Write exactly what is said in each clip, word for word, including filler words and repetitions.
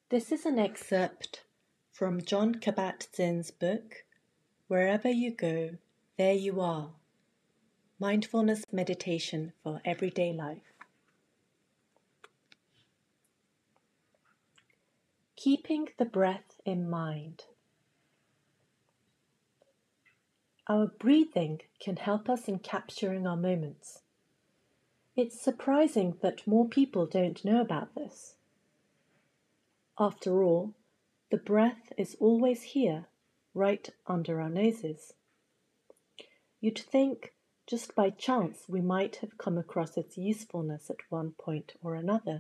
This is an excerpt from Jon Kabat-Zinn's book, Wherever You Go, There You Are, Mindfulness Meditation for Everyday Life. Keeping the breath in mind. Our breathing can help us in capturing our moments. It's surprising that more people don't know about this. After all, the breath is always here, right under our noses. You'd think just by chance we might have come across its usefulness at one point or another.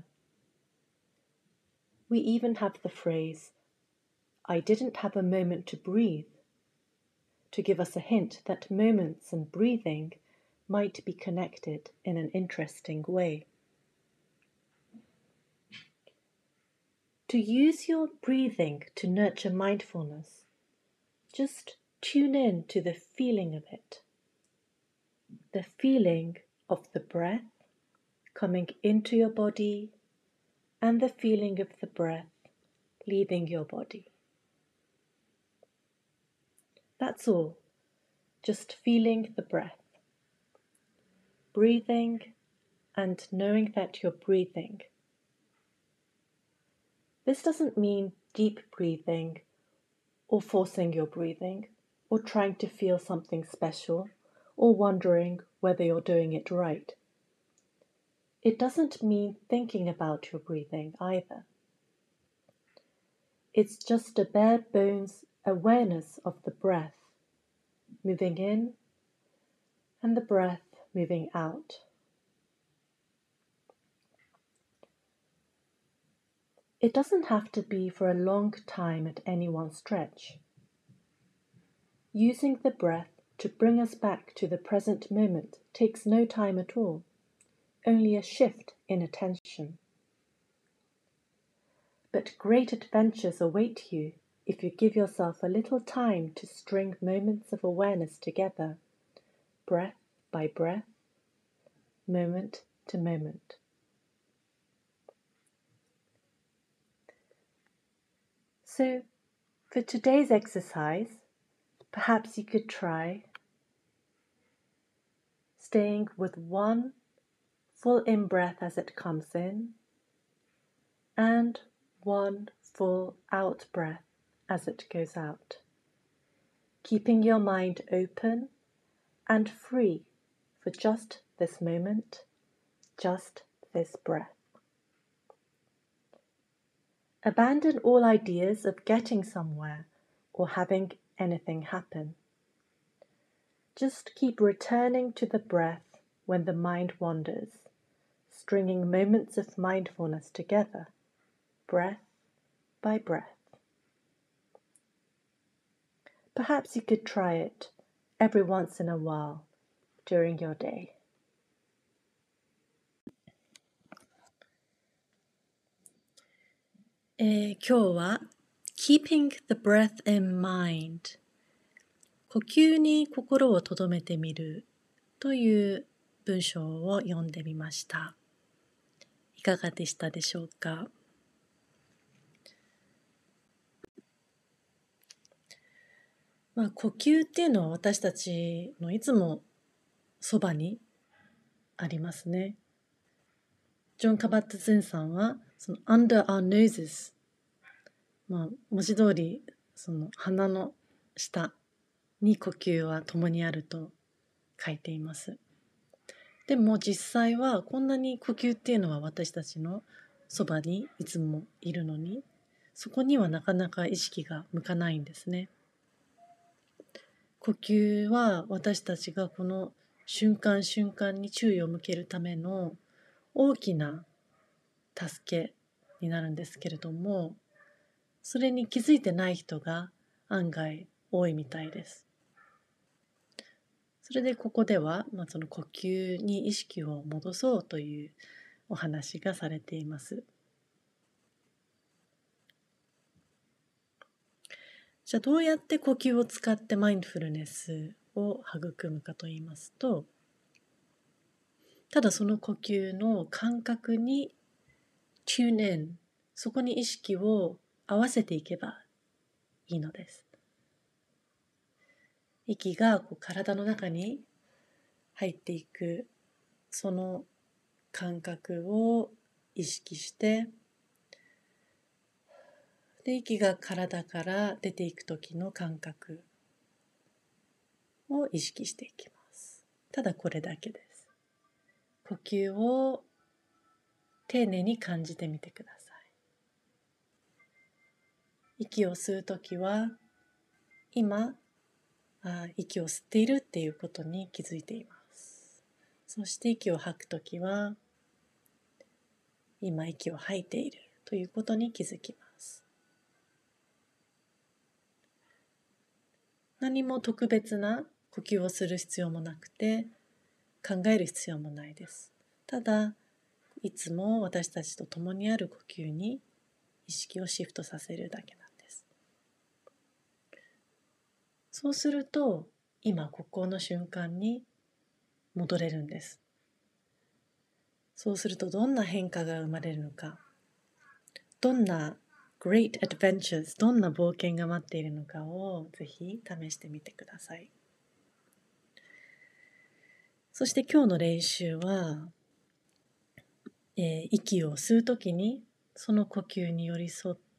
We even have the phrase, "I didn't have a moment to breathe," to give us a hint that moments and breathing might be connected in an interesting way. To use your breathing to nurture mindfulness, just tune in to the feeling of it. The feeling of the breath coming into your body and the feeling of the breath leaving your body. That's all, just feeling the breath. Breathing and knowing that you're breathing. This doesn't mean deep breathing or forcing your breathing or trying to feel something special or wondering whether you're doing it right. It doesn't mean thinking about your breathing either. It's just a bare bones awareness of the breath moving in and the breath moving out. It doesn't have to be for a long time at any one stretch. Using the breath to bring us back to the present moment takes no time at all, only a shift in attention. But great adventures await you if you give yourself a little time to string moments of awareness together, breath by breath, moment to moment. So, for today's exercise, perhaps you could try staying with one full in-breath as it comes in and one full out-breath as it goes out, keeping your mind open and free for just this moment, just this breath. Abandon all ideas of getting somewhere or having anything happen. Just keep returning to the breath when the mind wanders, stringing moments of mindfulness together, breath by breath. Perhaps you could try it every once in a while during your day. えー、今日は Keeping the breath in mind 呼吸に心を留めてみるという文章を読んでみました。いかがでしたでしょうか。まあ、呼吸っていうのは私たちのいつもそばにありますね。ジョン・カバット・ゼンさんはその under our noses、まあ、文字通りその鼻の下に呼吸は共にあると書いています。でも実際はこんなに呼吸っていうのは私たちのそばにいつもいるのに、そこにはなかなか意識が向かないんですね。呼吸は私たちがこの瞬間瞬間に注意を向けるための大きな助けになるんですけれども、それに気づいてない人が案外多いみたいです。それでここでは、まあ、その呼吸に意識を戻そうというお話がされています。じゃあどうやって呼吸を使ってマインドフルネスを育むかといいますと、ただその呼吸の感覚に tune in そこに意識を合わせていけばいいのです。息がこう体の中に入っていく、その感覚を意識して、で、息が体から出ていく時の感覚を意識していきます。ただこれだけです。呼吸を丁寧に感じてみてください。息を吸うときは、今あ、息を吸っているっていうことに気づいています。そして息を吐くときは、今息を吐いているということに気づきます。何も特別な呼吸をする必要もなくて、考える必要もないです。ただ、いつも私たちと共にある呼吸に意識をシフトさせるだけなんです。そうすると、今ここの瞬間に戻れるんです。そうするとどんな変化が生まれるのか、どんな great adventures、どんな冒険が待っているのかをぜひ試してみてください。そして今日の練習は、えー息を吸うときにその呼吸に寄り添って、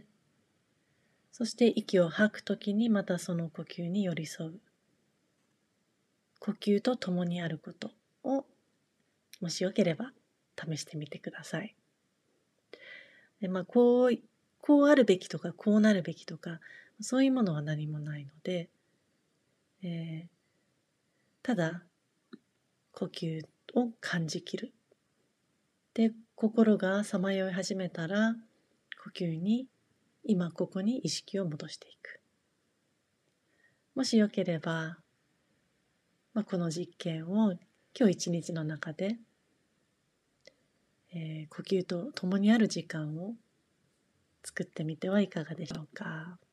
そして息を吐くときにまたその呼吸に寄り添う。呼吸と共にあることを、もしよければ試してみてください。で、まあ、こう、こうあるべきとか、こうなるべきとか、そういうものは何もないので、えーただ、呼吸を感じきる。で、心がさまよい始めたら、呼吸に、今ここに意識を戻していく。もしよければ、まあ、この実験を今日一日の中で、えー呼吸と共にある時間を作ってみてはいかがでしょうか。